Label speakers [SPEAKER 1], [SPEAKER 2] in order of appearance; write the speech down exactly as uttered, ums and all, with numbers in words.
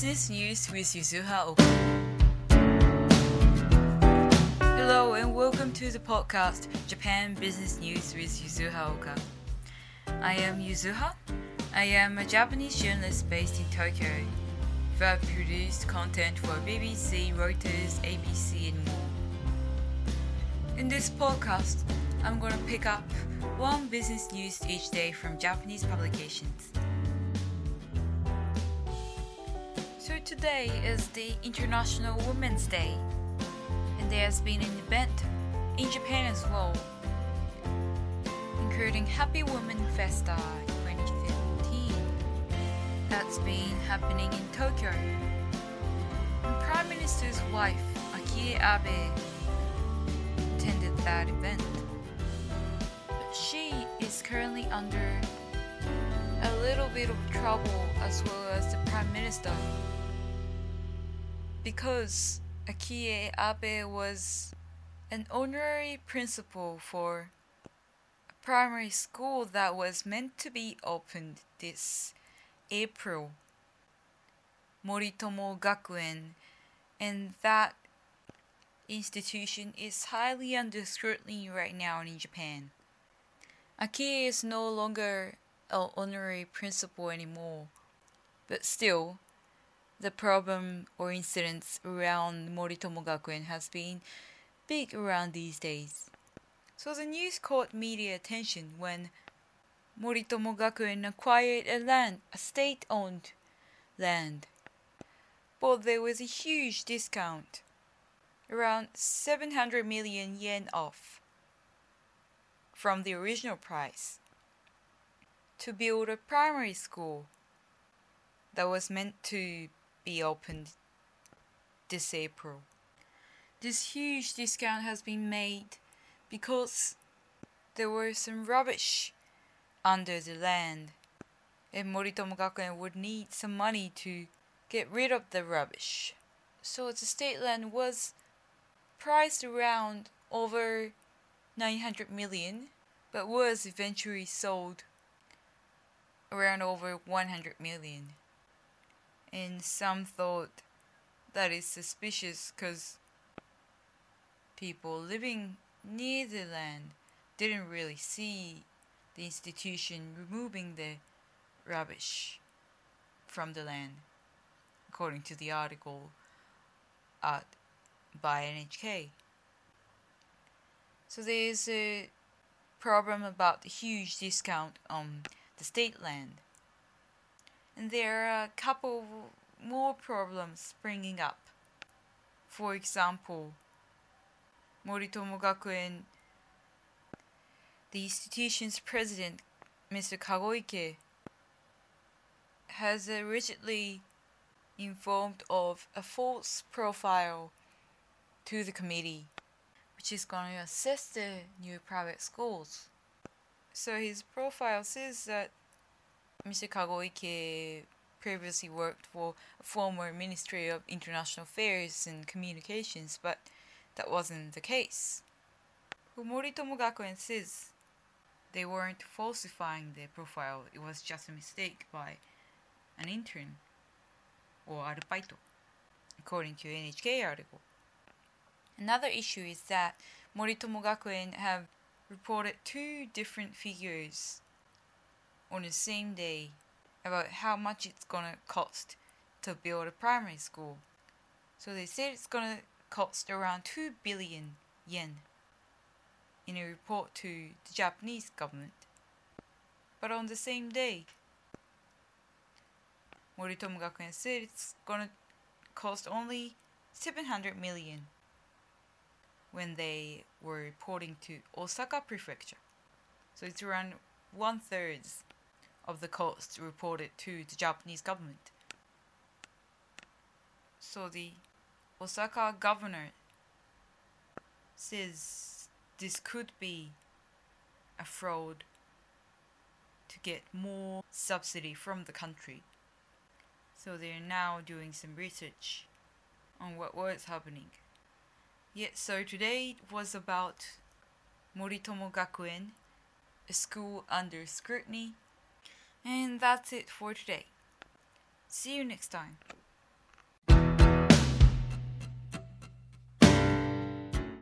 [SPEAKER 1] Business News with Yuzuha Oka. Hello and welcome to the podcast Japan Business News with Yuzuha Oka. I am Yuzuha. I am a Japanese journalist based in Tokyo who have produced content for B B C, Reuters, A B C and more. In this podcast, I'm going to pick up one business news each day from Japanese publications. So today is the International Women's Day, and there has been an event in Japan as well, including Happy Women Festa twenty fifteen that's been happening in Tokyo. And Prime Minister's wife, Akie Abe, attended that event. But she is currently under a little bit of trouble as well as the Prime Minister, because Akie Abe was an honorary principal for a primary school that was meant to be opened this April, Moritomo Gakuen, and that institution is highly under scrutiny right now in Japan. Akie is no longer an honorary principal anymore, but still, the problem or incidents around Moritomo Gakuen has been big around these days. So the news caught media attention when Moritomo Gakuen acquired a land, a state-owned land. But there was a huge discount, around seven hundred million yen off from the original price, to build a primary school that was meant to be opened this April. This huge discount has been made because there were some rubbish under the land, and Moritomo Gakuen would need some money to get rid of the rubbish. So the state land was priced around over nine hundred million, but was eventually sold around over one hundred million. And some thought that is suspicious because people living near the land didn't really see the institution removing the rubbish from the land, according to the article at, by N H K. So there is a problem about the huge discount on the state land. And there are a couple more problems springing up. For example, Moritomo Gakuen, the institution's president, Mister Kagoike, has allegedly informed of a false profile to the committee, which is going to assess the new private schools. So his profile says that Mister Kagoike previously worked for a former Ministry of International Affairs and Communications, but that wasn't the case. Moritomo Gakuen says they weren't falsifying their profile, it was just a mistake by an intern or arubaito, according to an N H K article. Another issue is that Moritomo Gakuen have reported two different figures on the same day about how much it's gonna cost to build a primary school. So they said it's gonna cost around two billion yen in a report to the Japanese government. But on the same day, Moritomo Gakuen said it's gonna cost only seven hundred million when they were reporting to Osaka Prefecture. So it's around one third of the cost reported to the Japanese government. So the Osaka governor says this could be a fraud to get more subsidy from the country. So they are now doing some research on what was happening. Yet, so today was about Moritomo Gakuen, a school under scrutiny. And that's it for today. See you next time.